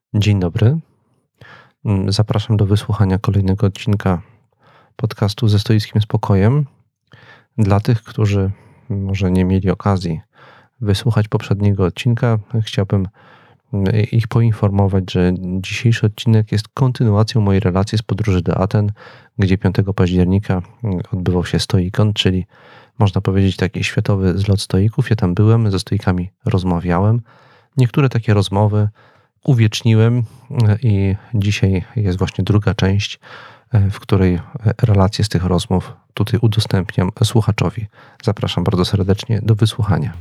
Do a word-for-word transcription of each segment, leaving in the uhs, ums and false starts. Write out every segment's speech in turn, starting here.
Dzień dobry. Zapraszam do wysłuchania kolejnego odcinka podcastu Ze Stoickim Spokojem. Dla tych, którzy może nie mieli okazji wysłuchać poprzedniego odcinka, chciałbym ich poinformować, że dzisiejszy odcinek jest kontynuacją mojej relacji z podróży do Aten, gdzie piątego października odbywał się Stoikon, czyli można powiedzieć taki światowy zlot stoików. Ja tam byłem, ze stoikami rozmawiałem. Niektóre takie rozmowy uwieczniłem i dzisiaj jest właśnie druga część, w której relacje z tych rozmów tutaj udostępniam słuchaczowi. Zapraszam bardzo serdecznie do wysłuchania.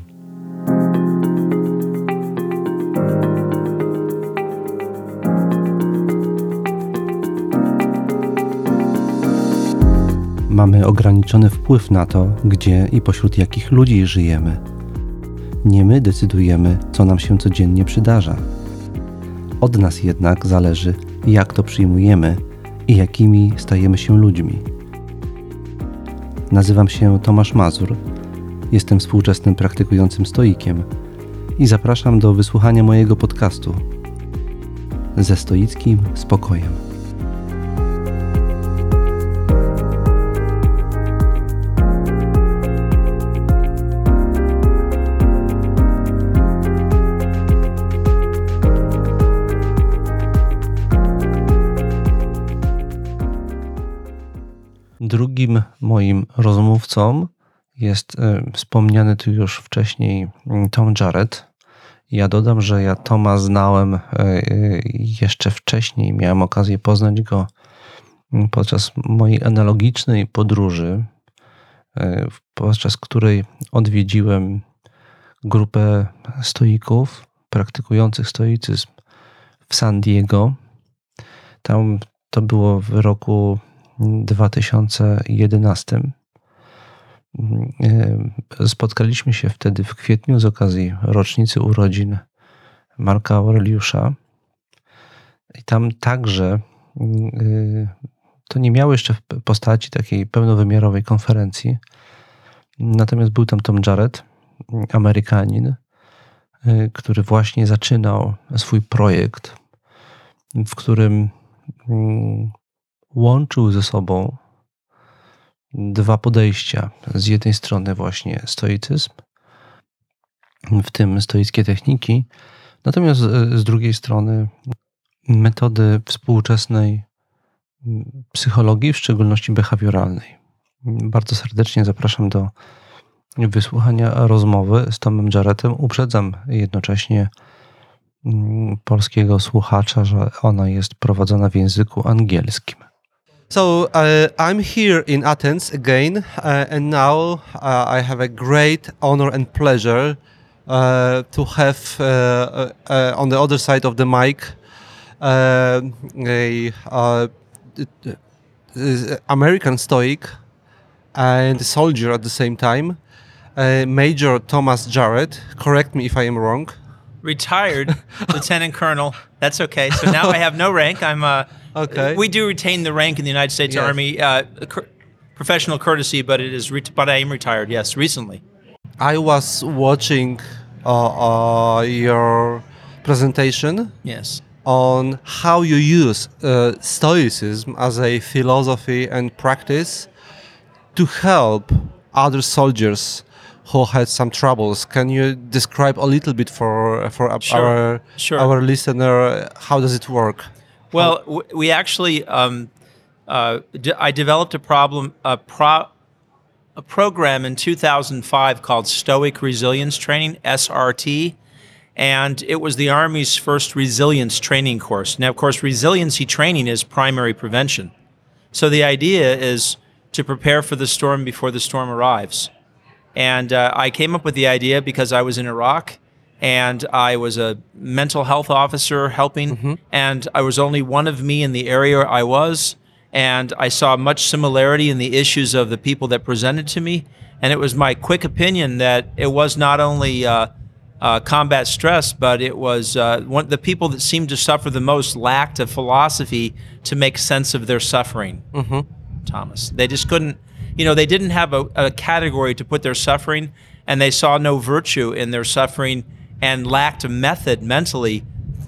Mamy ograniczony wpływ na to, gdzie i pośród jakich ludzi żyjemy. Nie my decydujemy, co nam się codziennie przydarza. Od nas jednak zależy, jak to przyjmujemy i jakimi stajemy się ludźmi. Nazywam się Tomasz Mazur, jestem współczesnym praktykującym stoikiem i zapraszam do wysłuchania mojego podcastu Ze Stoickim Spokojem. Drugim moim rozmówcą jest y, wspomniany tu już wcześniej Tom Jarrett. Ja dodam, że ja Toma znałem y, y, jeszcze wcześniej. Miałem okazję poznać go podczas mojej analogicznej podróży, y, podczas której odwiedziłem grupę stoików praktykujących stoicyzm w San Diego. Tam to było w roku dwa tysiące jedenastym. Spotkaliśmy się wtedy w kwietniu z okazji rocznicy urodzin Marka Aureliusza. I tam także to nie miało jeszcze postaci takiej pełnowymiarowej konferencji. Natomiast był tam Tom Jarrett, Amerykanin, który właśnie zaczynał swój projekt, w którym łączył ze sobą dwa podejścia. Z jednej strony właśnie stoicyzm, w tym stoickie techniki, natomiast z drugiej strony metody współczesnej psychologii, w szczególności behawioralnej. Bardzo serdecznie zapraszam do wysłuchania rozmowy z Tomem Jarrettem. Uprzedzam jednocześnie polskiego słuchacza, że ona jest prowadzona w języku angielskim. So uh, I'm here in Athens again, uh, and now uh, I have a great honor and pleasure uh, to have uh, uh, on the other side of the mic uh, a uh, American Stoic and soldier at the same time, uh, Major Thomas Jarrett. Correct me if I am wrong. Retired Lieutenant Colonel. That's okay. So now I have no rank. I'm uh okay. We do retain the rank in the United States Yes. Army, uh, cur- professional courtesy, but it is. Ret- but I am retired. Yes, recently. I was watching uh, uh, your presentation. Yes. On how you use uh, Stoicism as a philosophy and practice to help other soldiers who had some troubles. Can you describe a little bit for for Sure, our sure. our listener how does it work? Well, w- we actually, um, uh, d- I developed a problem, a pro, a program in two thousand five called Stoic Resilience Training, S R T, and it was the Army's first resilience training course. Now, of course, resiliency training is primary prevention. So the idea is to prepare for the storm before the storm arrives. And uh, I came up with the idea because I was in Iraq and I was a mental health officer helping, mm-hmm. and I was only one of me in the area I was, and I saw much similarity in the issues of the people that presented to me, and it was my quick opinion that it was not only uh, uh, combat stress, but it was uh, one, the people that seemed to suffer the most lacked a philosophy to make sense of their suffering, Mm-hmm. Thomas. They just couldn't, you know, they didn't have a, a category to put their suffering, and they saw no virtue in their suffering and lacked a method mentally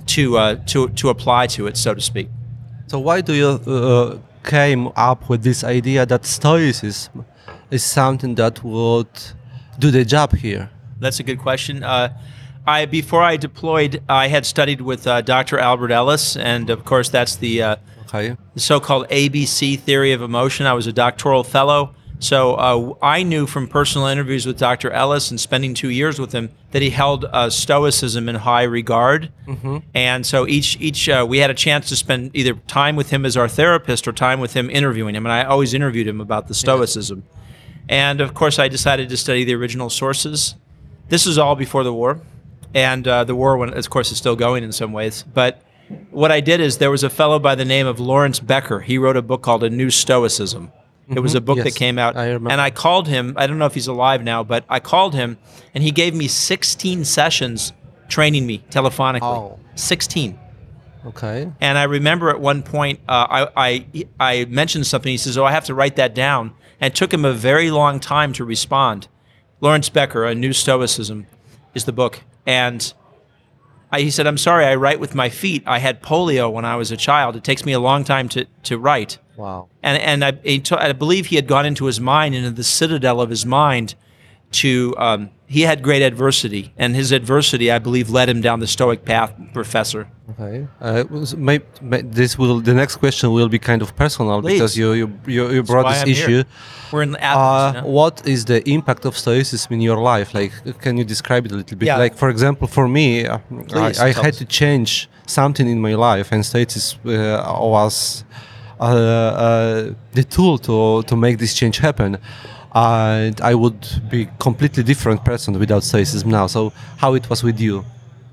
to uh, to to apply to it, so to speak. So why do you uh, came up with this idea that Stoicism is something that would do the job here? That's a good question. Uh, I before I deployed, I had studied with uh, Doctor Albert Ellis, and of course that's the, uh, Okay. the so-called A B C theory of emotion. I was a doctoral fellow, so uh, I knew from personal interviews with Doctor Ellis and spending two years with him that he held uh, Stoicism in high regard. Mm-hmm. And so each each uh, we had a chance to spend either time with him as our therapist or time with him interviewing him, and I always interviewed him about the Stoicism. Yes. And of course, I decided to study the original sources. This is all before the war. And uh, the war, when, of course, is still going in some ways. But what I did is there was a fellow by the name of Lawrence Becker. He wrote a book called A New Stoicism. Mm-hmm. It was a book Yes, that came out. I remember. And I called him. I don't know if he's alive now, but I called him, and he gave me sixteen sessions training me telephonically. Oh. sixteen. Okay. And I remember at one point, uh, I, I I mentioned something. He says, "Oh, I have to write that down." And it took him a very long time to respond. Lawrence Becker, A New Stoicism, is the book. And I, he said, "I'm sorry, I write with my feet. I had polio when I was a child. It takes me a long time to, to write." Wow. And and I, he t- I believe he had gone into his mind, into the citadel of his mind, to um, he had great adversity, and his adversity, I believe, led him down the Stoic path, Professor. Okay. Uh, was- may, may, this will the next question will be kind of personal Please. because you you you, you brought why this I'm issue. here. We're in Athens. Uh, you know? What is the impact of Stoicism in your life? Like, can you describe it a little bit? Yeah. Like, for example, for me, uh, Please, I, I tell had us. to change something in my life, and Stoicism uh, was uh, uh, the tool to to make this change happen. And I would be completely different person without Stoicism now. So, how it was with you?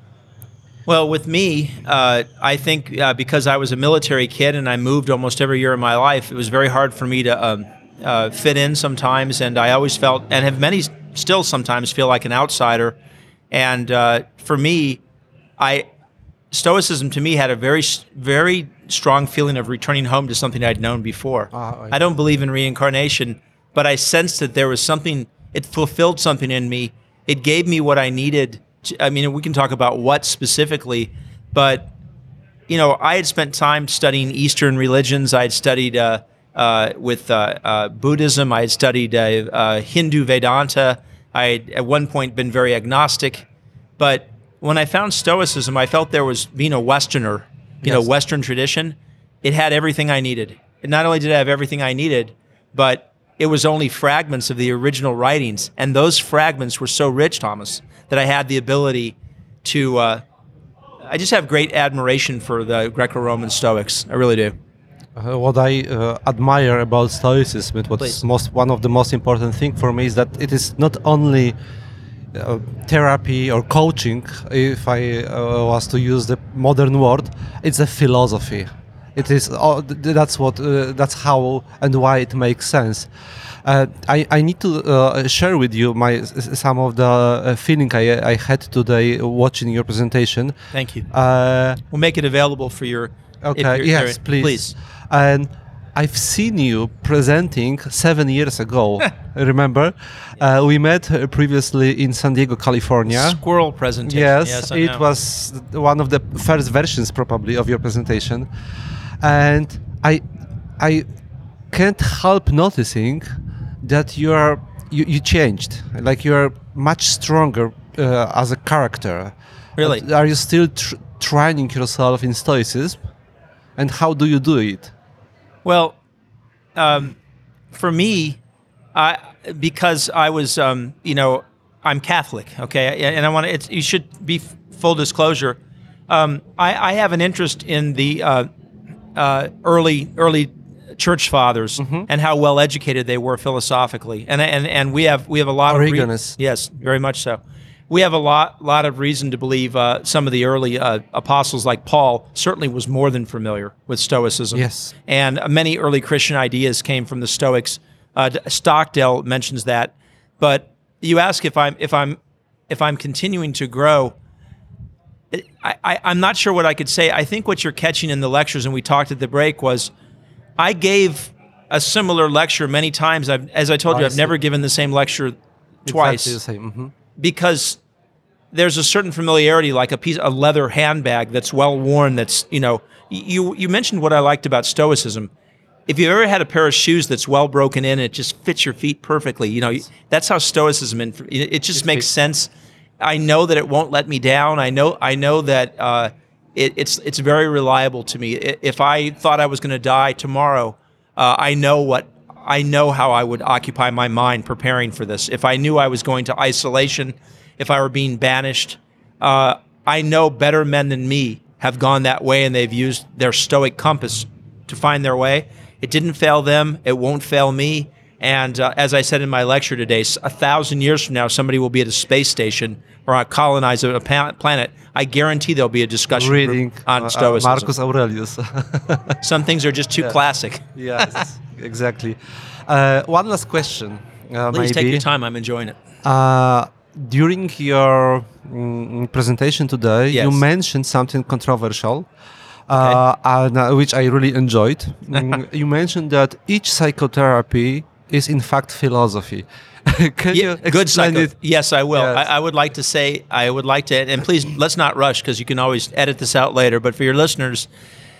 Well, with me, uh, I think uh, because I was a military kid and I moved almost every year of my life, it was very hard for me to um, uh, fit in sometimes. And I always felt, and have many still sometimes feel like an outsider. And uh, for me, I Stoicism to me had a very, very strong feeling of returning home to something I'd known before. Ah, I- I don't believe in reincarnation, but I sensed that there was something, it fulfilled something in me. It gave me what I needed. To, I mean, we can talk about what specifically, but, you know, I had spent time studying Eastern religions. I had studied uh, uh, with uh, uh, Buddhism. I had studied uh, uh, Hindu Vedanta. I had at one point been very agnostic. But when I found Stoicism, I felt there was, being a Westerner, you know, Yes. Western tradition, it had everything I needed. And not only did it have everything I needed, but it was only fragments of the original writings. And those fragments were so rich, Thomas, that I had the ability to, uh, I just have great admiration for the Greco-Roman Stoics. I really do. Uh, what I uh, admire about Stoicism, what's Please. most one of the most important thing for me is that it is not only uh, therapy or coaching. If I uh, was to use the modern word, it's a philosophy. It is. Uh, th- that's what. Uh, that's how and why it makes sense. Uh, I, I need to uh, share with you my s- some of the uh, feeling I, I had today watching your presentation. Thank you. Uh, We'll make it available for your. if Okay, you're- yes, you're- please. Please. And I've seen you presenting seven years ago. Remember? Uh, we met uh, previously in San Diego, California. Squirrel presentation. Yes, I it know. was one of the first versions probably of your presentation. And I I can't help noticing that you are you, you changed. Like you are much stronger uh, as a character. Really? Are you still tr- training yourself in Stoicism? And how do you do it? Well, um, for me, I because I was, um, you know, I'm Catholic, okay, and I want to. It's you should be f- full disclosure. Um, I, I have an interest in the uh, uh, early early church fathers and how well educated they were philosophically, and and and we have we have a lot of Origenus. yes, very much so. We have a lot lot of reason to believe uh, some of the early uh, apostles, like Paul, certainly was more than familiar with Stoicism. Yes. And many early Christian ideas came from the Stoics. Uh, Stockdale mentions that. But you ask if I'm if I'm if I'm continuing to grow. I, I, I'm not sure what I could say. I think what you're catching in the lectures, and we talked at the break, was I gave a similar lecture many times. I've, as I told you, I I've see. never given the same lecture twice. Exactly the same. Mhm. Because there's a certain familiarity, like a piece, a leather handbag that's well worn. That's you know, you you mentioned what I liked about Stoicism. If you've ever had a pair of shoes that's well broken in, it just fits your feet perfectly. You know, that's how Stoicism. It, it just makes sense. I know that it won't let me down. I know. I know that uh, it, it's it's very reliable to me. If I thought I was going to die tomorrow, uh, I know what I know how I would occupy my mind preparing for this. If I knew I was going to isolation, if I were being banished, uh, I know better men than me have gone that way, and they've used their Stoic compass to find their way. It didn't fail them. It won't fail me. And uh, as I said in my lecture today, a thousand years from now, somebody will be at a space station or colonize a planet. I guarantee there'll be a discussion Reading group on uh, Stoicism. Marcus Aurelius. Some things are just too Yeah. classic. Yes, exactly. Uh, one last question. Uh, Please take maybe. your time. I'm enjoying it. Uh, during your mm, presentation today, Yes. you mentioned something controversial, uh, and, uh, which I really enjoyed. Mm, you mentioned that each psychotherapy is in fact philosophy. Can Yeah, you good explain psycho. it? Yes, I will. Yes. I, I would like to say, I would like to, and please let's not rush because you can always edit this out later. But for your listeners,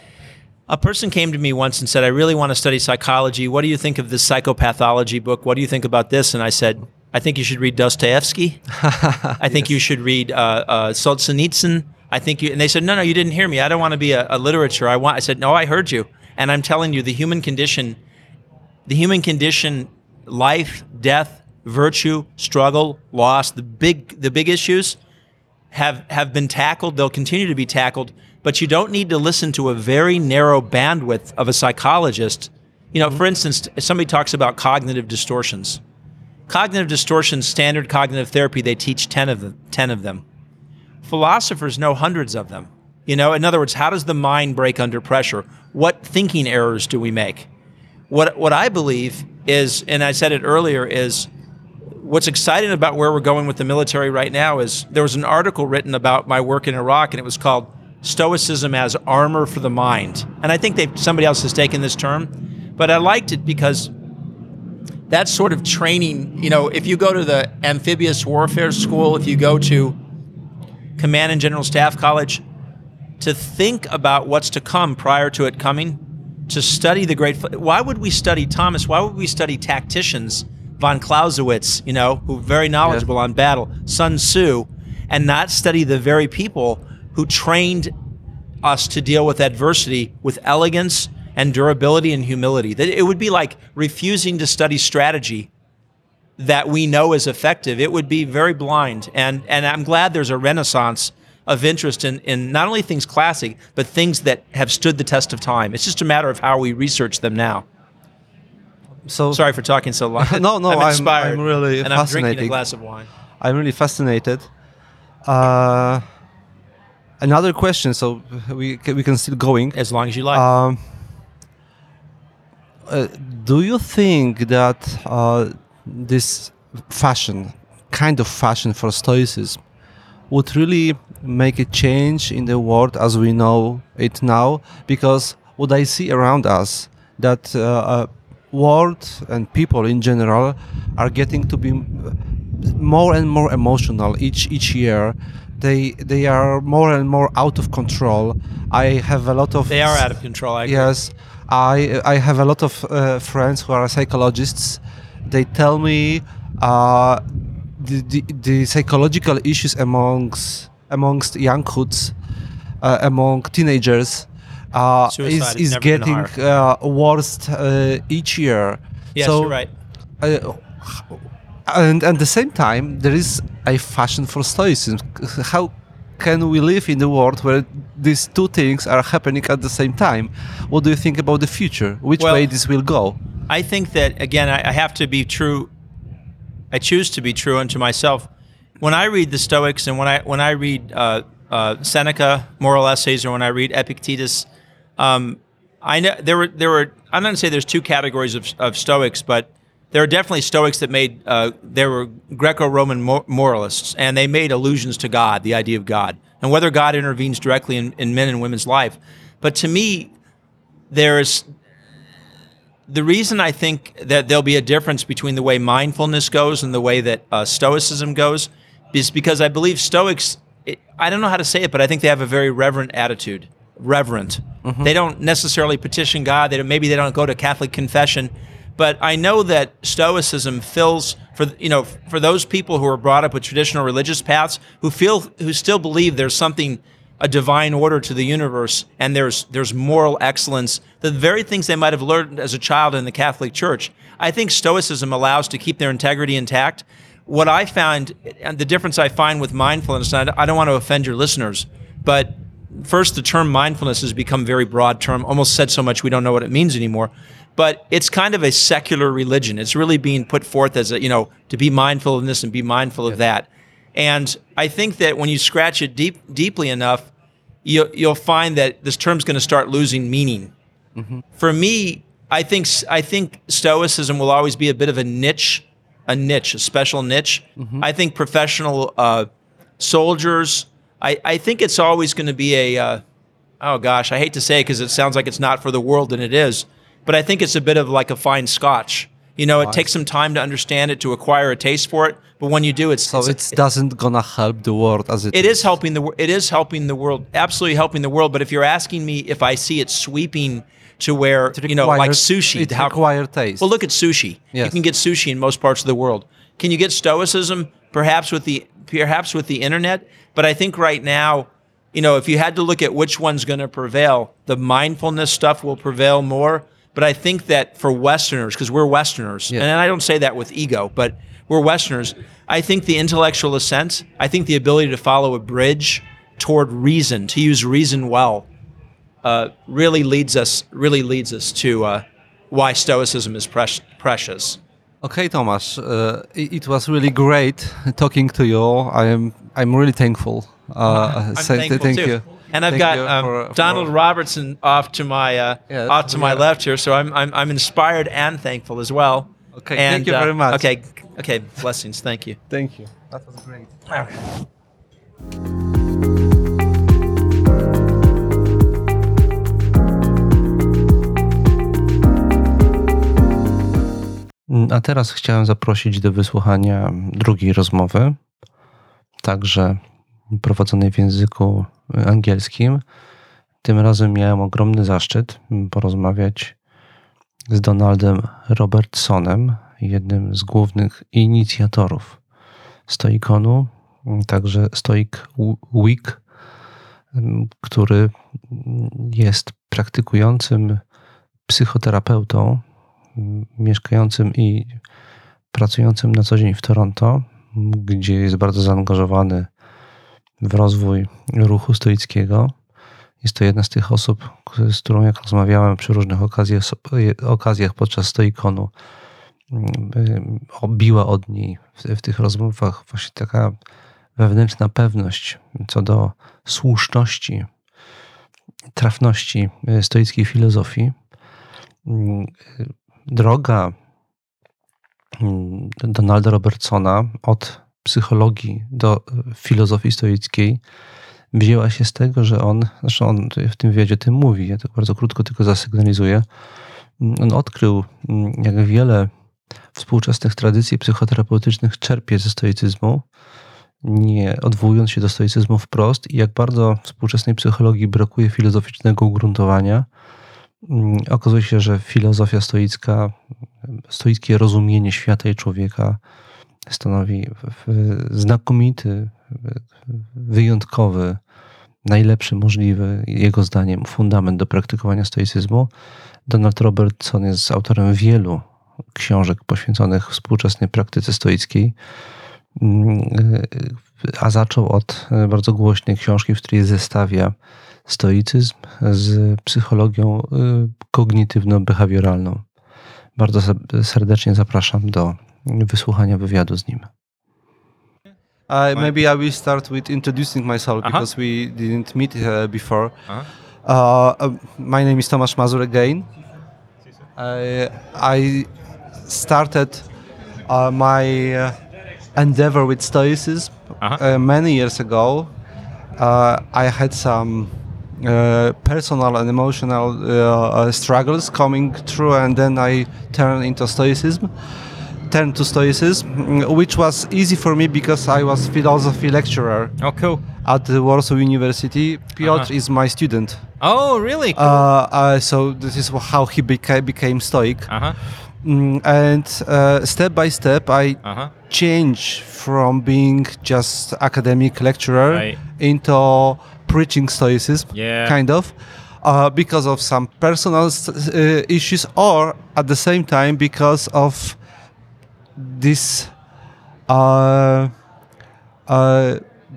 a person came to me once and said, "I really want to study psychology. What do you think of this psychopathology book? What do you think about this?" And I said, "I think you should read Dostoevsky. I think you should read uh, uh, Solzhenitsyn. I think you." And they said, "No, no, you didn't hear me. I don't want to be a, a literature. I want." I said, "No, I heard you, and I'm telling you, the human condition, the human condition, life, death, virtue, struggle, loss, the big, the big issues." have have been tackled. They'll continue to be tackled, but you don't need to listen to a very narrow bandwidth of a psychologist. You know, mm-hmm. for instance, if somebody talks about cognitive distortions. Cognitive distortions, standard cognitive therapy, they teach ten of them. ten of them. Philosophers know hundreds of them. You know, in other words, how does the mind break under pressure? What thinking errors do we make? What what I believe is, and I said it earlier, is what's exciting about where we're going with the military right now is there was an article written about my work in Iraq, and it was called Stoicism as Armor for the Mind. And I think they somebody else has taken this term, but I liked it because that sort of training, you know, if you go to the amphibious warfare school, if you go to Command and General Staff College, to think about what's to come prior to it coming, to study the great, why would we study Thomas? Why would we study tacticians? Von Clausewitz, you know, who are very knowledgeable yeah. on battle, Sun Tzu, and not study the very people who trained us to deal with adversity with elegance and durability and humility. That it would be like refusing to study strategy that we know is effective. It would be very blind. And and I'm glad there's a renaissance of interest in, in not only things classic, but things that have stood the test of time. It's just a matter of how we research them now. So sorry for talking so long. no, no, I'm I'm, inspired, I'm really and I'm drinking fascinated. a glass of wine. I'm really fascinated. Uh, another question, so we can, we can still going. As long as you like. Um, uh, do you think that uh, this fashion, kind of fashion for Stoicism, would really make a change in the world as we know it now? Because what I see around us, that uh, uh, world and people in general are getting to be more and more emotional each each year. They they are more and more out of control. I have a lot of they are out of control. I agree. Yes, I I have a lot of uh, friends who are psychologists. They tell me uh, the, the the psychological issues amongst amongst younghoods, uh, among teenagers. Uh, is, is getting uh, worse uh, each year. Yes, so, you're right. Uh, and at the same time, there is a fashion for Stoicism. How can we live in the world where these two things are happening at the same time? What do you think about the future? Which well, way this will go? I think that, again, I, I have to be true. I choose to be true unto myself. When I read the Stoics and when I when I read uh, uh, Seneca, Moral Essays, or when I read Epictetus, Um, I know there were there were. I'm not going to say there's two categories of, of Stoics, but there are definitely Stoics that made. Uh, there were Greco-Roman mor- moralists, and they made allusions to God, the idea of God, and whether God intervenes directly in, in men and women's life. But to me, there's the reason I think that there'll be a difference between the way mindfulness goes and the way that uh, Stoicism goes, is because I believe Stoics, it, I don't know how to say it, but I think they have a very reverent attitude. Reverent. Mm-hmm. They don't necessarily petition God. They don't, maybe they don't go to Catholic confession. But I know that Stoicism fills, for you know, for those people who are brought up with traditional religious paths, who feel, who still believe there's something, a divine order to the universe, and there's there's moral excellence, the very things they might have learned as a child in the Catholic Church. I think Stoicism allows to keep their integrity intact. What I found, and the difference I find with mindfulness, and I don't want to offend your listeners, but first, the term mindfulness has become a very broad term, almost said so much we don't know what it means anymore. But it's kind of a secular religion. It's really being put forth as a, you know, to be mindful of this and be mindful of that. And I think that when you scratch it deep, deeply enough, you, you'll find that this term's going to start losing meaning. Mm-hmm. For me, I think I think Stoicism will always be a bit of a niche, a niche, a special niche. Mm-hmm. I think professional uh, soldiers. I, I think it's always going to be a. Uh, oh gosh, I hate to say it because it sounds like it's not for the world, and it is. But I think it's a bit of like a fine scotch. You know, it takes some time to understand it, to acquire a taste for it. But when you do, it's so it's, it doesn't gonna help the world as it. It is, is helping the it is helping the world, absolutely helping the world. But if you're asking me if I see it sweeping to where requires, you know, like sushi, it how, requires taste. Well, look at sushi. Yes. You can get sushi in most parts of the world. Can you get Stoicism? Perhaps with the perhaps with the internet. But I think right now, you know, if you had to look at which one's going to prevail, the mindfulness stuff will prevail more. But I think that for Westerners, because we're Westerners, yeah. and I don't say that with ego, but we're Westerners, I think the intellectual ascent, I think the ability to follow a bridge toward reason, to use reason well, uh, really leads us really leads us to uh, why Stoicism is pre- precious. Okay, Tomasz, uh, it, it was really great talking to you. I am I'm really thankful. Uh, I'm say, thankful thank too. You. And I've Thank got um, for, Donald for... Robertson off to my uh, yes, off to my yeah. left here, so I'm I'm I'm inspired and thankful as well. Okay, and, thank you uh, very much. Okay, okay, blessings. Thank you. Thank you. That was great. A teraz chciałem zaprosić do wysłuchania drugiej rozmowy, także prowadzonej w języku angielskim. Tym razem miałem ogromny zaszczyt porozmawiać z Donaldem Robertsonem, jednym z głównych inicjatorów Stoikonu, także Stoic Week, który jest praktykującym psychoterapeutą, mieszkającym i pracującym na co dzień w Toronto, gdzie jest bardzo zaangażowany w rozwój ruchu stoickiego. Jest to jedna z tych osób, z którą jak rozmawiałem przy różnych okazjach, okazjach podczas Stoikonu, obiła od niej w, w tych rozmowach właśnie taka wewnętrzna pewność co do słuszności, trafności stoickiej filozofii. Droga Donalda Robertsona od psychologii do filozofii stoickiej wzięła się z tego, że on, zresztą on w tym wywiadzie o tym mówi, ja to bardzo krótko tylko zasygnalizuję, on odkrył, jak wiele współczesnych tradycji psychoterapeutycznych czerpie ze stoicyzmu, nie odwołując się do stoicyzmu wprost, i jak bardzo współczesnej psychologii brakuje filozoficznego ugruntowania. Okazuje się, że filozofia stoicka, stoickie rozumienie świata i człowieka stanowi znakomity, wyjątkowy, najlepszy możliwy, jego zdaniem, fundament do praktykowania stoicyzmu. Donald Robertson jest autorem wielu książek poświęconych współczesnej praktyce stoickiej, a zaczął od bardzo głośnej książki, w której zestawia stoicyzm z psychologią kognitywno-behawioralną. Bardzo serdecznie zapraszam do wysłuchania wywiadu z nim. Uh, maybe I will start with introducing myself uh-huh. because we didn't meet uh, before. Uh-huh. Uh, uh, my name is Tomasz Mazur again. Uh, I started uh, my uh, endeavor with Stoicism uh-huh. uh, many years ago. Uh, I had some uh, personal and emotional uh, uh, struggles coming through, and then I turned into Stoicism. turned to Stoicism, mm, which was easy for me because I was philosophy lecturer Oh, cool. at the Warsaw University. Piotr Uh-huh. is my student. Oh, really? Cool. Uh, uh, so this is how he beca- became Stoic. Uh-huh. Mm, and uh, step by step, I Uh-huh. changed from being just academic lecturer Right. into preaching Stoicism, Yeah. kind of, uh, because of some personal s- uh, issues, or at the same time because of this. Uh, uh,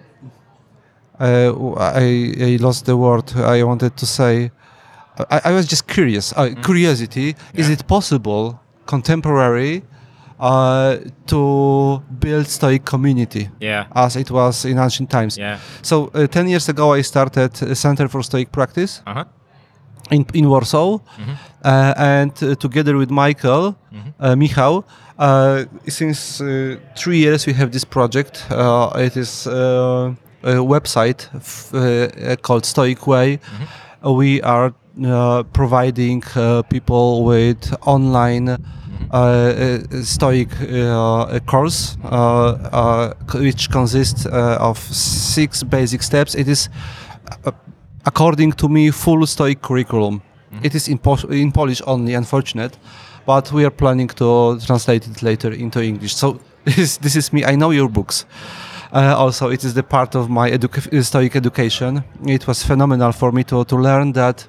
uh, I, I lost the word I wanted to say. I, I was just curious. Uh, Curiosity. Is Yeah. it possible, contemporary, uh, to build Stoic community Yeah. as it was in ancient times? Yeah. So uh, ten years ago, I started a Center for Stoic Practice Uh-huh. in, in Warsaw, uh, and uh, together with Michael, uh, Michał, uh, since uh, three years we have this project. Uh, it is uh, a website f- uh, called Stoic Way. Uh, we are uh, providing uh, people with online uh, uh, Stoic uh, course, uh, uh, c- which consists uh, of six basic steps. It is, uh, according to me, full Stoic curriculum. It is in, po- in Polish only, unfortunate, but we are planning to translate it later into English. So this is, this is me. I know your books. Uh, also, it is the part of my edu- Stoic education. It was phenomenal for me to, to learn that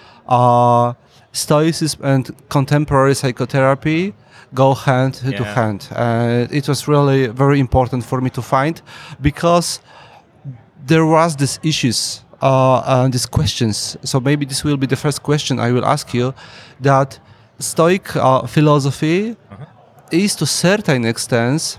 uh, Stoicism and contemporary psychotherapy go hand to Yeah. hand. Uh, it was really very important for me to find, because there was these issues uh, and these questions. So maybe this will be the first question I will ask you, that Stoic uh, philosophy is to certain extent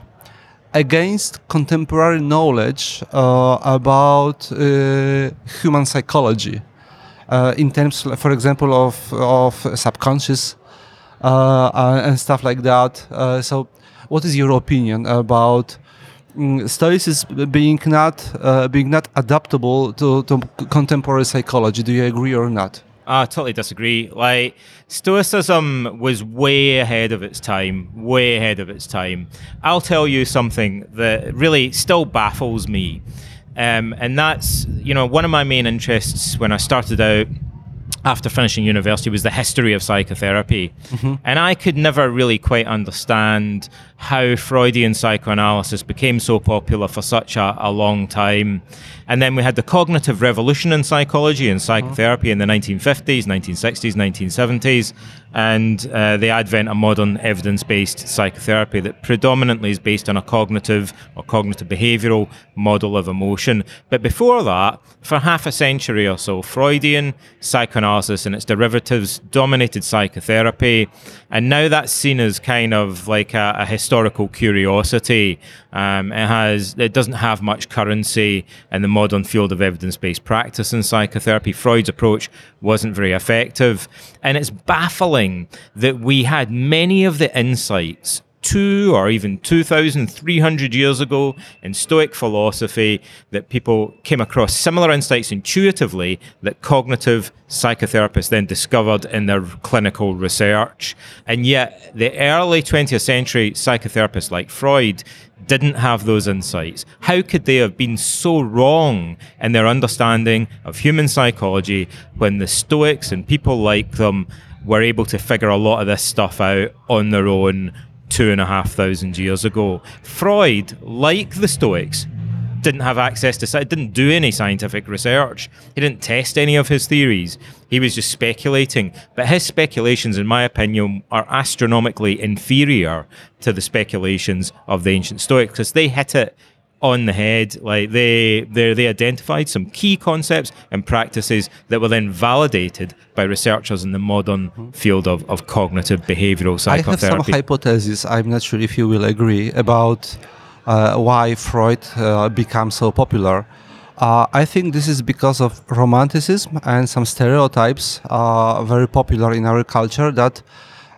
against contemporary knowledge uh, about uh, human psychology, uh, in terms, for example, of, of subconscious uh, uh, and stuff like that. Uh, so what is your opinion about mm, Stoicism being not uh, being not adaptable to, to contemporary psychology? Do you agree or not? I totally disagree. Like, Stoicism was way ahead of its time, way ahead of its time. I'll tell you something that really still baffles me. Um, and that's, you know, one of my main interests when I started out after finishing university was the history of psychotherapy. Mm-hmm. And I could never really quite understand how Freudian psychoanalysis became so popular for such a, a long time. And then we had the cognitive revolution in psychology and psychotherapy in the nineteen fifties, nineteen sixties, nineteen seventies, and uh, the advent of modern evidence-based psychotherapy that predominantly is based on a cognitive or cognitive behavioral model of emotion. But before that, for half a century or so, Freudian psychoanalysis and its derivatives dominated psychotherapy, and now that's seen as kind of like a, a historical curiosity. Um, it has, it doesn't have much currency in the modern field of evidence-based practice in psychotherapy. Freud's approach wasn't very effective, and it's baffling that we had many of the insights two or even two thousand three hundred years ago in Stoic philosophy, that people came across similar insights intuitively that cognitive psychotherapists then discovered in their clinical research. And yet the early twentieth century psychotherapists like Freud didn't have those insights. How could they have been so wrong in their understanding of human psychology when the Stoics and people like them were able to figure a lot of this stuff out on their own two and a half thousand years ago? Freud, like the Stoics, didn't have access to, didn't do any scientific research. He didn't test any of his theories. He was just speculating. But his speculations, in my opinion, are astronomically inferior to the speculations of the ancient Stoics, because they hit it on the head. Like they, they, they identified some key concepts and practices that were then validated by researchers in the modern field of, of cognitive behavioral psychotherapy. I have some hypotheses. I'm not sure if you will agree about uh, why Freud uh, became so popular. Uh, I think this is because of romanticism and some stereotypes uh, very popular in our culture, that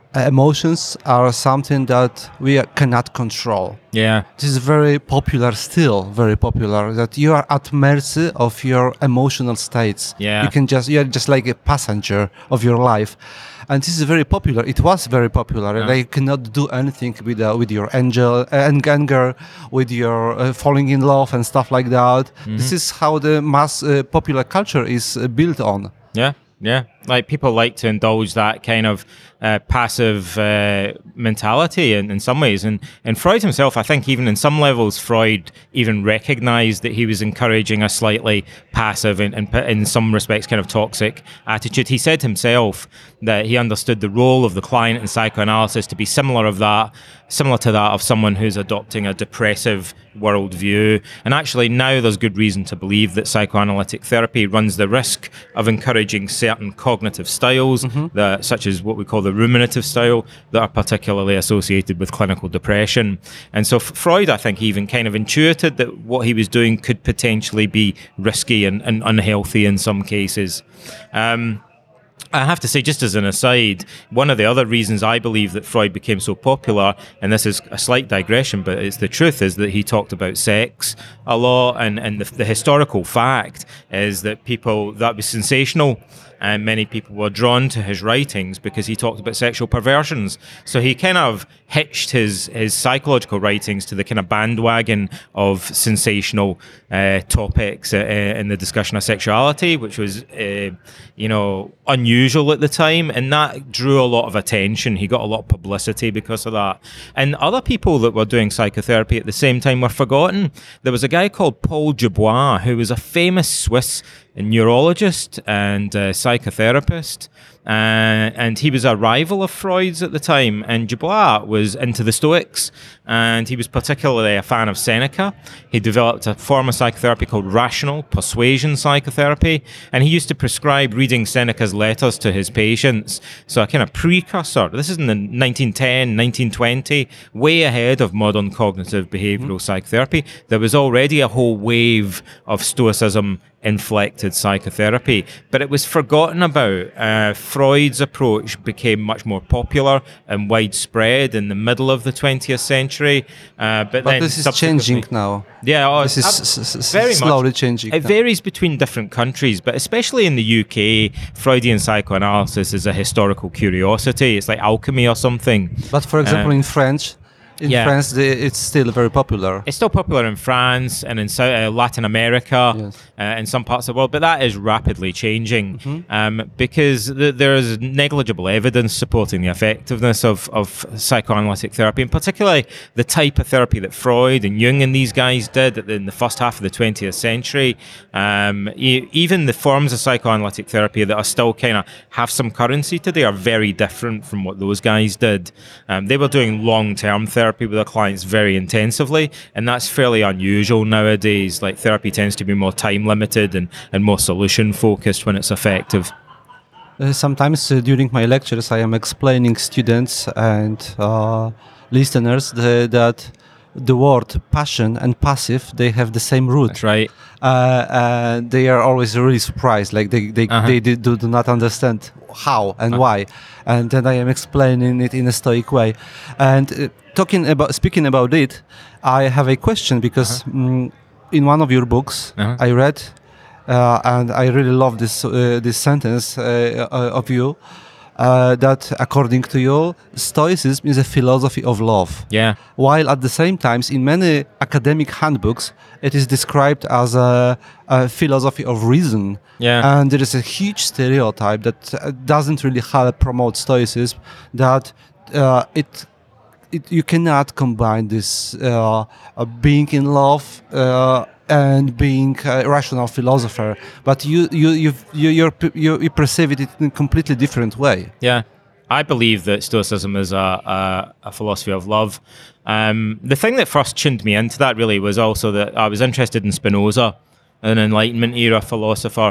emotions are something that we cannot control. Yeah. This is very popular still, very popular, that you are at mercy of your emotional states. Yeah. You can just, you're just like a passenger of your life. And this is very popular. It was very popular. Yeah. Like you cannot do anything with uh, with your angel, uh, anger, with your uh, falling in love and stuff like that. Mm-hmm. This is how the mass uh, popular culture is uh, built on. Yeah, yeah. Like people like to indulge that kind of uh, passive uh, mentality in, in some ways. And, and Freud himself, I think even in some levels, Freud even recognized that he was encouraging a slightly passive and, and in some respects kind of toxic attitude. He said himself that he understood the role of the client in psychoanalysis to be similar of that, similar to that of someone who's adopting a depressive worldview. And actually now there's good reason to believe that psychoanalytic therapy runs the risk of encouraging certain cognitive styles, mm-hmm. that, such as what we call the ruminative style, that are particularly associated with clinical depression. And so Freud, I think, even kind of intuited that what he was doing could potentially be risky and, and unhealthy in some cases. Um, I have to say, just as an aside, one of the other reasons I believe that Freud became so popular, and this is a slight digression, but it's the truth, is that he talked about sex a lot, and, and the, the historical fact is that people, that was sensational, and many people were drawn to his writings because he talked about sexual perversions. So he kind of hitched his, his psychological writings to the kind of bandwagon of sensational uh, topics uh, in the discussion of sexuality, which was, uh, you know, unusual at the time, and that drew a lot of attention. He got a lot of publicity because of that. And other people that were doing psychotherapy at the same time were forgotten. There was a guy called Paul Dubois, who was a famous Swiss neurologist and uh, psychotherapist, uh, and he was a rival of Freud's at the time. And Dubois was into the Stoics, and he was particularly a fan of Seneca. He developed a form of psychotherapy called rational persuasion psychotherapy, and he used to prescribe reading Seneca's letters to his patients. So a kind of precursor. This is in the nineteen ten, nineteen twenty, way ahead of modern cognitive behavioral mm-hmm. psychotherapy. There was already a whole wave of Stoicism inflected psychotherapy, but it was forgotten about. Uh, Freud's approach became much more popular and widespread in the middle of the twentieth century. Uh, but but then this is changing now. Yeah, oh, this is uh, s- s- very slowly much. changing. It now. varies between different countries, but especially in the U K, Freudian psychoanalysis is a historical curiosity. It's like alchemy or something. But for example, Um, in French, in yeah. France, the, it's still very popular. It's still popular in France and in South, uh, Latin America, Yes. uh, in some parts of the world, but that is rapidly changing Mm-hmm. um, because th- there is negligible evidence supporting the effectiveness of, of psychoanalytic therapy, and particularly the type of therapy that Freud and Jung and these guys did in the first half of the twentieth century. Um, e- even the forms of psychoanalytic therapy that are still kind of have some currency today are very different from what those guys did. Um, they were doing long-term therapy with their clients very intensively, and that's fairly unusual nowadays. Like therapy tends to be more time limited and, and more solution focused when it's effective. Uh, sometimes uh, during my lectures, I am explaining students and uh, listeners the, that the word passion and passive, they have the same root. That's right. Uh, and they are always really surprised, like they they, Uh-huh. they do, do not understand how and Uh-huh. why. And then I am explaining it in a stoic way. And uh, talking about speaking about it, I have a question because Uh-huh. mm, in one of your books Uh-huh. I read, uh, and I really love this uh, this sentence uh, uh, of you. Uh, that according to you, Stoicism is a philosophy of love. Yeah. While at the same time, in many academic handbooks, it is described as a, a philosophy of reason. Yeah. And there is a huge stereotype that uh, doesn't really help promote Stoicism, that uh, it, it you cannot combine this uh, uh, being in love uh, and being a rational philosopher, but you you you you you're, you you perceive it in a completely different way. Yeah, I believe that Stoicism is a, a, a philosophy of love. Um, the thing that first tuned me into that really was also that I was interested in Spinoza, an Enlightenment era philosopher,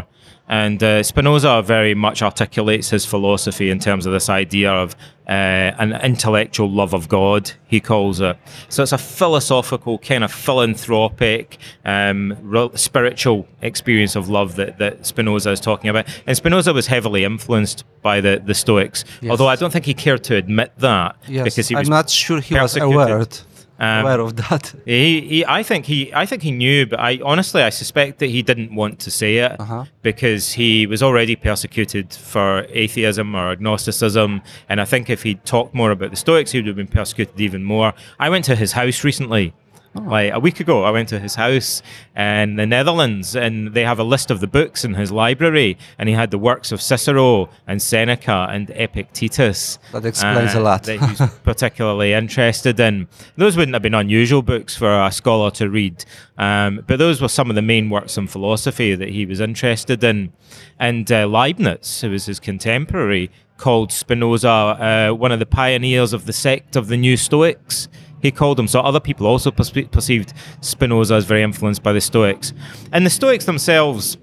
And uh, Spinoza very much articulates his philosophy in terms of this idea of uh, an intellectual love of God, he calls it. So it's a philosophical, kind of philanthropic, um, re- spiritual experience of love that, that Spinoza is talking about. And Spinoza was heavily influenced by the, the Stoics, Yes. although I don't think he cared to admit that. Yes, because he was I'm not sure he was persecuted. aware, Um, aware of that. He, he, I think he, I think he knew, but I honestly, I suspect that he didn't want to say it Uh-huh. because he was already persecuted for atheism or agnosticism, and I think if he'd talked more about the Stoics, he would have been persecuted even more. I went to his house recently. Like a week ago, I went to his house in the Netherlands, and they have a list of the books in his library, and he had the works of Cicero and Seneca and Epictetus. That explains a lot. That he's particularly interested in. Those wouldn't have been unusual books for a scholar to read, um, but those were some of the main works in philosophy that he was interested in. And uh, Leibniz, who was his contemporary, called Spinoza uh, one of the pioneers of the sect of the New Stoics. He called him. So other people also perce- perceived Spinoza as very influenced by the Stoics. And the Stoics themselves,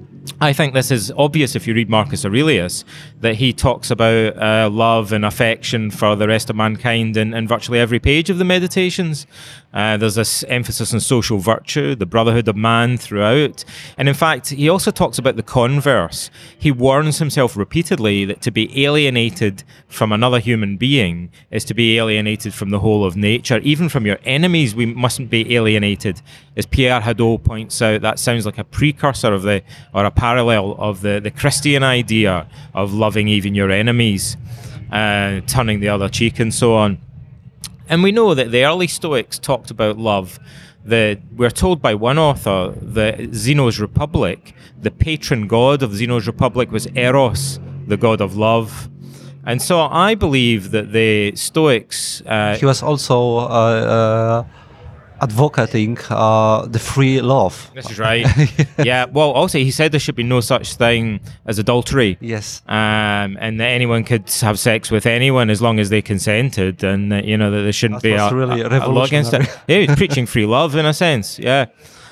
I think this is obvious if you read Marcus Aurelius, that he talks about uh, love and affection for the rest of mankind in, in virtually every page of the Meditations. Uh, there's this emphasis on social virtue, the brotherhood of man throughout. And in fact, he also talks about the converse. He warns himself repeatedly that to be alienated from another human being is to be alienated from the whole of nature. Even from your enemies, we mustn't be alienated. As Pierre Hadot points out, that sounds like a precursor of the, or a parallel of the, the Christian idea of loving even your enemies, uh, turning the other cheek and so on. And we know that the early Stoics talked about love. The, we're told by one author that Zeno's Republic, the patron god of Zeno's Republic was Eros, the god of love. And so I believe that the Stoics... Uh, He was also uh, uh, advocating uh, the free love. This is right. Yeah, well, also he said there should be no such thing as adultery. Yes. Um, and that anyone could have sex with anyone as long as they consented, and uh, you know that there shouldn't That be was a, really a, a law against it. revolutionary. Yeah, he was preaching free love in a sense. Yeah.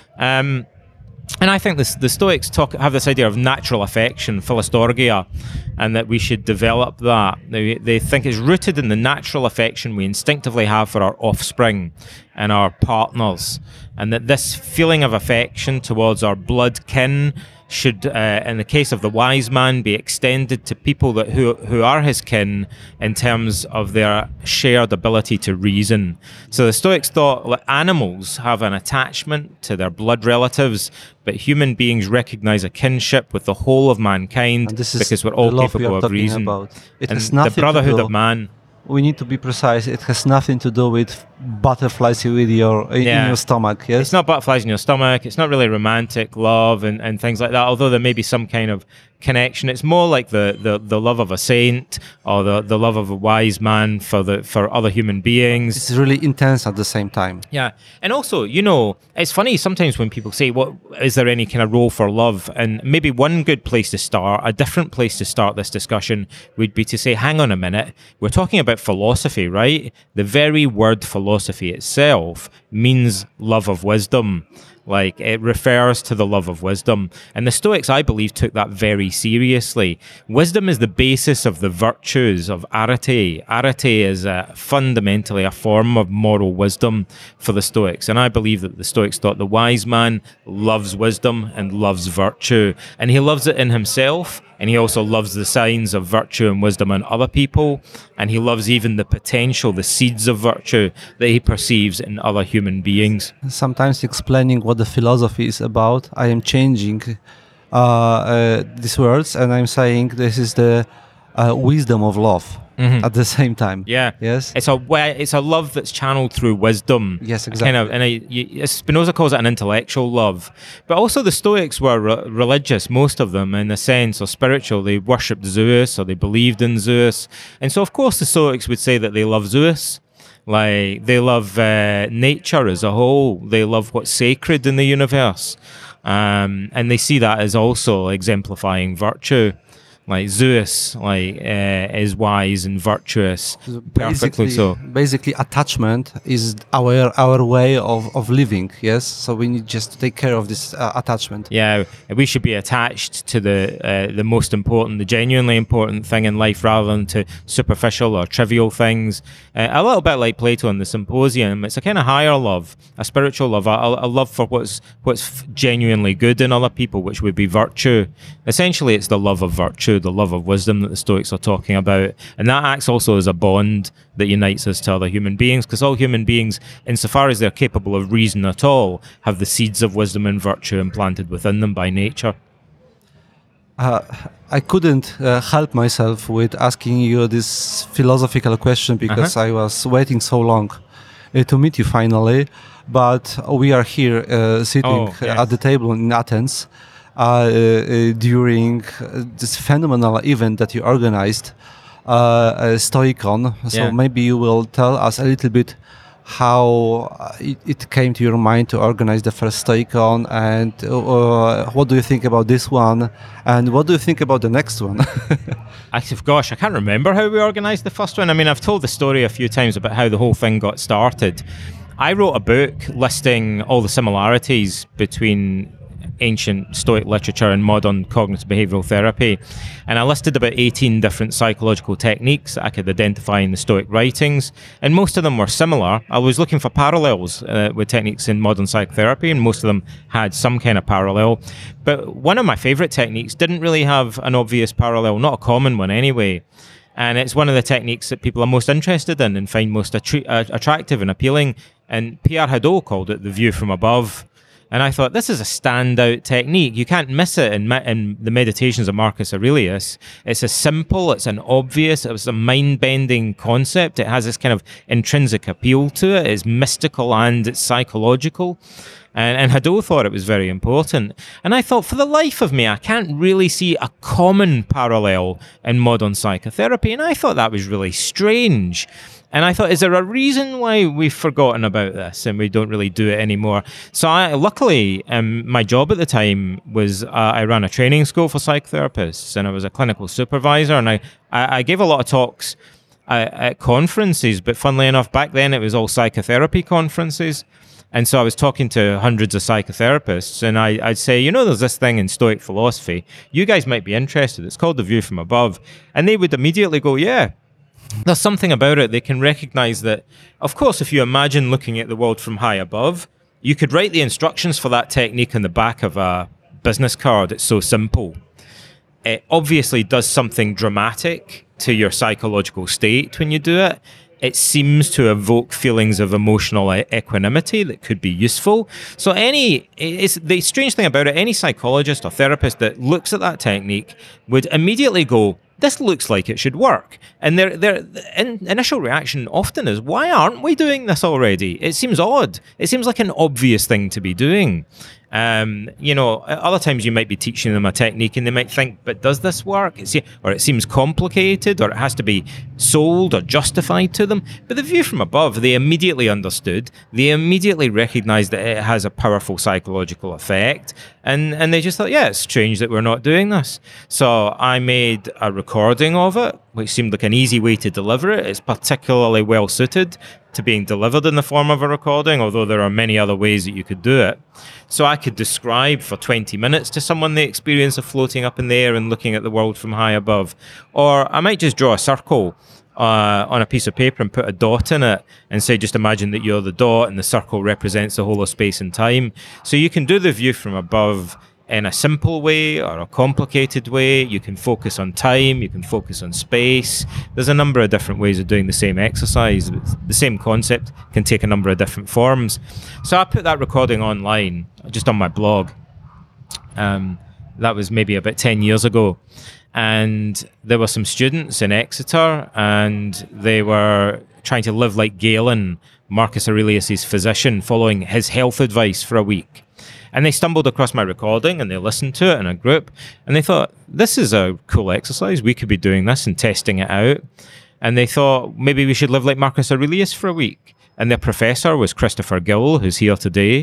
Um, and I think this, the Stoics talk have this idea of natural affection, philostorgia, and that we should develop that. They, they think it's rooted in the natural affection we instinctively have for our offspring and our partners, and that this feeling of affection towards our blood kin should, uh, in the case of the wise man, be extended to people that who who are his kin in terms of their shared ability to reason. So the Stoics thought that animals have an attachment to their blood relatives, but human beings recognize a kinship with the whole of mankind And this is because we're the all love we capable are of talking reason. about. It and has the nothing to brotherhood do- of man. We need to be precise. It has nothing to do with butterflies with your in Yeah. your stomach. Yes. It's not butterflies in your stomach. It's not really romantic love and, and things like that, although there may be some kind of connection. It's more like the, the, the love of a saint or the, the love of a wise man for the for other human beings. It's really intense at the same time. Yeah. And also, you know, it's funny sometimes when people say, what is there any kind of role for love? And maybe one good place to start, a different place to start this discussion would be to say, hang on a minute, we're talking about philosophy, right? The very word philosophy itself means love of wisdom. Like, it refers to the love of wisdom. And the Stoics, I believe, took that very seriously. Wisdom is the basis of the virtues of arete. Arete is uh, fundamentally a form of moral wisdom for the Stoics. And I believe that the Stoics thought the wise man loves wisdom and loves virtue. And he loves it in himself. And he also loves the signs of virtue and wisdom in other people. And he loves even the potential, the seeds of virtue that he perceives in other human beings. Sometimes explaining what the philosophy is about, I am changing uh, uh, these words and I'm saying this is the uh, wisdom of love Mhm. at the same time. Yeah. Yes. It's a way, it's a love that's channeled through wisdom. Yes, A Kind of, exactly. and I, you, Spinoza calls it an intellectual love. But also the Stoics were re- religious, most of them, in a sense, or spiritual. They worshipped Zeus or they believed in Zeus. And so, of course, the Stoics would say that they love Zeus. Like, they love uh, nature as a whole. They love what's sacred in the universe. Um, and they see that as also exemplifying virtue. Like Zeus, like uh, is wise and virtuous, perfectly so. Basically, attachment is our our way of, of living. Yes, so we need just to take care of this uh, attachment. Yeah, we should be attached to the uh, the most important, the genuinely important thing in life, rather than to superficial or trivial things. Uh, a little bit like Plato in the Symposium, it's a kind of higher love, a spiritual love, a, a love for what's what's genuinely good in other people, which would be virtue. Essentially, it's the love of virtue, the love of wisdom that the Stoics are talking about, and that acts also as a bond that unites us to other human beings, because all human beings, insofar as they're capable of reason at all, have the seeds of wisdom and virtue implanted within them by nature. Uh, I couldn't uh, help myself with asking you this philosophical question because Uh-huh. I was waiting so long uh, to meet you finally, but we are here uh, sitting Oh, yes. at the table in Athens uh, uh, during uh, this phenomenal event that you organized, uh, uh, Stoicon. So Yeah. maybe you will tell us a little bit how uh, it, it came to your mind to organize the first Stoicon, and uh, what do you think about this one, and what do you think about the next one? I, gosh, I can't remember how we organised the first one. I mean, I've told the story a few times about how the whole thing got started. I wrote a book listing all the similarities between ancient Stoic literature and modern cognitive behavioural therapy. And I listed about eighteen different psychological techniques that I could identify in the Stoic writings. And most of them were similar. I was looking for parallels uh, with techniques in modern psychotherapy, and most of them had some kind of parallel. But one of my favourite techniques didn't really have an obvious parallel, not a common one anyway. And it's one of the techniques that people are most interested in and find most attri- uh, attractive and appealing. And Pierre Hadot called it the view from above. And I thought, this is a standout technique. You can't miss it in, in the Meditations of Marcus Aurelius. It's a simple, it's an obvious, it's a mind-bending concept. It has this kind of intrinsic appeal to it. It's mystical and it's psychological. And, and Hadot thought it was very important. And I thought, for the life of me, I can't really see a common parallel in modern psychotherapy. And I thought that was really strange. And I thought, is there a reason why we've forgotten about this and we don't really do it anymore? So I, luckily, um, my job at the time was uh, I ran a training school for psychotherapists, and I was a clinical supervisor, and I, I, I gave a lot of talks uh, at conferences, but funnily enough, back then it was all psychotherapy conferences. And so I was talking to hundreds of psychotherapists, and I, I'd say, you know, there's this thing in Stoic philosophy. You guys might be interested. It's called the view from above. And they would immediately go, yeah. There's something about it. They can recognize that, of course, if you imagine looking at the world from high above, you could write the instructions for that technique on the back of a business card. It's so simple. It obviously does something dramatic to your psychological state when you do it. It seems to evoke feelings of emotional equanimity that could be useful. So any, it's the strange thing about it, any psychologist or therapist that looks at that technique would immediately go, this looks like it should work. And their their in, initial reaction often is, why aren't we doing this already? It seems odd. It seems like an obvious thing to be doing. Um, you know, other times you might be teaching them a technique and they might think, but does this work? It's, or it seems complicated, or it has to be sold or justified to them. But the view from above, they immediately understood. They immediately recognized that it has a powerful psychological effect. And, and they just thought, yeah, it's strange that we're not doing this. So I made a recording of it, which seemed like an easy way to deliver it. It's particularly well suited to being delivered in the form of a recording, although there are many other ways that you could do it. So I could describe for twenty minutes to someone the experience of floating up in the air and looking at the world from high above. Or I might just draw a circle uh, on a piece of paper and put a dot in it and say, just imagine that you're the dot and the circle represents the whole of space and time. So you can do the view from above in a simple way or a complicated way. You can focus on time, you can focus on space. There's a number of different ways of doing the same exercise. The same concept can take a number of different forms. So I put that recording online, just on my blog. Um, that was maybe about ten years ago. And there were some students in Exeter, and they were trying to live like Galen, Marcus Aurelius' physician, following his health advice for a week. And they stumbled across my recording and they listened to it in a group, and they thought, this is a cool exercise. We could be doing this and testing it out. And they thought, maybe we should live like Marcus Aurelius for a week. And their professor was Christopher Gill, who's here today.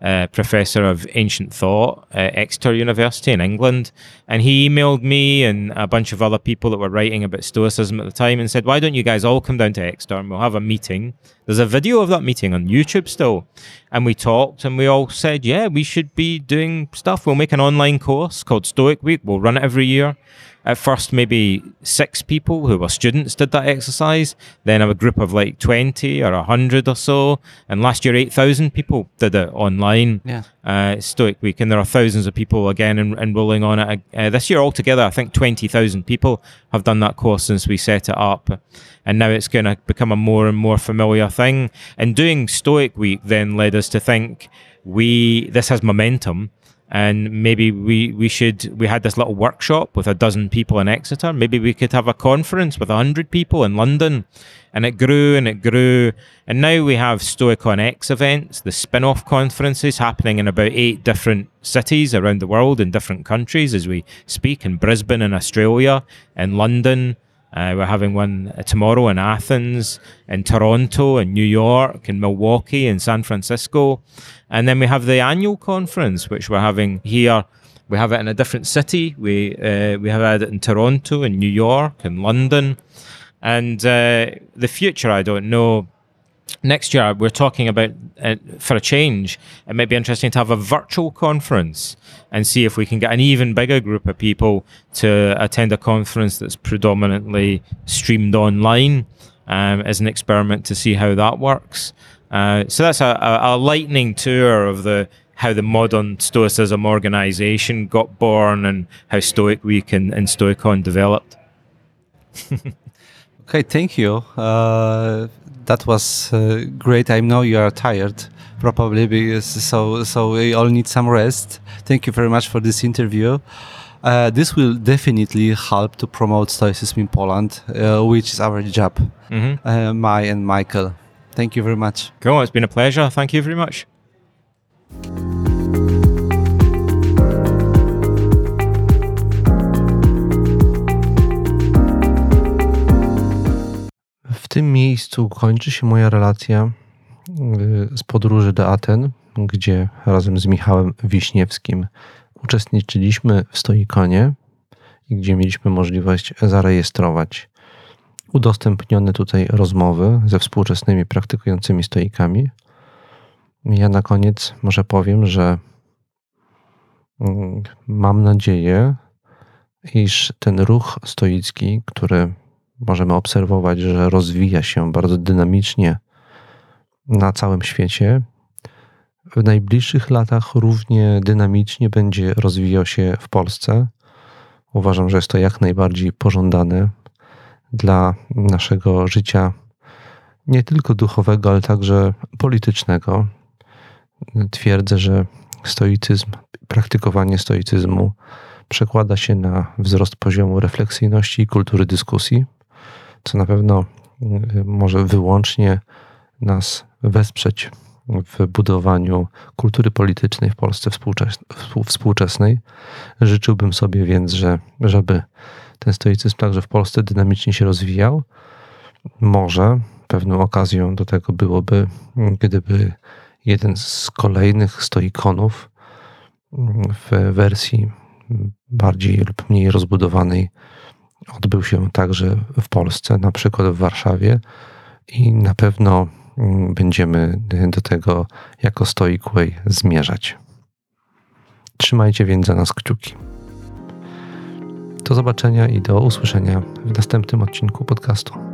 uh, professor of ancient thought at Exeter University in England. And he emailed me and a bunch of other people that were writing about Stoicism at the time and said, why don't you guys all come down to Exeter and we'll have a meeting. There's a video of that meeting on YouTube still. And we talked and we all said, yeah, we should be doing stuff. We'll make an online course called Stoic Week. We'll run it every year. At first, maybe six people who were students did that exercise. Then a group of like twenty or one hundred or so. And last year, eight thousand people did it online. Yeah. Uh, Stoic Week. And there are thousands of people again en- enrolling on it. Uh, this year altogether, I think twenty thousand people have done that course since we set it up. And now it's going to become a more and more familiar thing. And doing Stoic Week then led us to think we this has momentum. And maybe we, we should, we had this little workshop with a dozen people in Exeter. Maybe we could have a conference with a hundred people in London. And it grew and it grew. And now we have Stoicon X events, the spin-off conferences happening in about eight different cities around the world in different countries as we speak, in Brisbane in Australia, in London. Uh, we're having one tomorrow in Athens, in Toronto, in New York, in Milwaukee, in San Francisco. And then we have the annual conference, which we're having here. We have it in a different city. We uh, we have had it in Toronto, in New York, in London. And uh, the future, I don't know. Next year, we're talking about, uh, for a change, it might be interesting to have a virtual conference and see if we can get an even bigger group of people to attend a conference that's predominantly streamed online um, as an experiment to see how that works. Uh, so that's a, a, a lightning tour of the how the modern Stoicism organization got born and how Stoic Week and, and Stoicon developed. Okay, thank you. Uh, that was uh, great. I know you are tired, probably, because so so we all need some rest. Thank you very much for this interview. Uh, this will definitely help to promote Stoicism in Poland, uh, which is our job, Mm-hmm. uh, my and Michael. Thank you very much. Cool, it's been a pleasure. Thank you very much. W tym miejscu kończy się moja relacja y, z podróży do Aten, gdzie razem z Michałem Wiśniewskim uczestniczyliśmy w Stoikonie i gdzie mieliśmy możliwość zarejestrować udostępnione tutaj rozmowy ze współczesnymi praktykującymi stoikami. Ja na koniec może powiem, że mm, mam nadzieję, iż ten ruch stoicki, który możemy obserwować, że rozwija się bardzo dynamicznie na całym świecie, w najbliższych latach równie dynamicznie będzie rozwijał się w Polsce. Uważam, że jest to jak najbardziej pożądane dla naszego życia nie tylko duchowego, ale także politycznego. Twierdzę, że stoicyzm, praktykowanie stoicyzmu przekłada się na wzrost poziomu refleksyjności i kultury dyskusji, co na pewno może wyłącznie nas wesprzeć w budowaniu kultury politycznej w Polsce współczesnej. Życzyłbym sobie więc, że, żeby ten stoicyzm także w Polsce dynamicznie się rozwijał. Może pewną okazją do tego byłoby, gdyby jeden z kolejnych stoikonów w wersji bardziej lub mniej rozbudowanej odbył się także w Polsce, na przykład w Warszawie, i na pewno będziemy do tego jako Stoic Way zmierzać. Trzymajcie więc za nas kciuki. Do zobaczenia i do usłyszenia w następnym odcinku podcastu.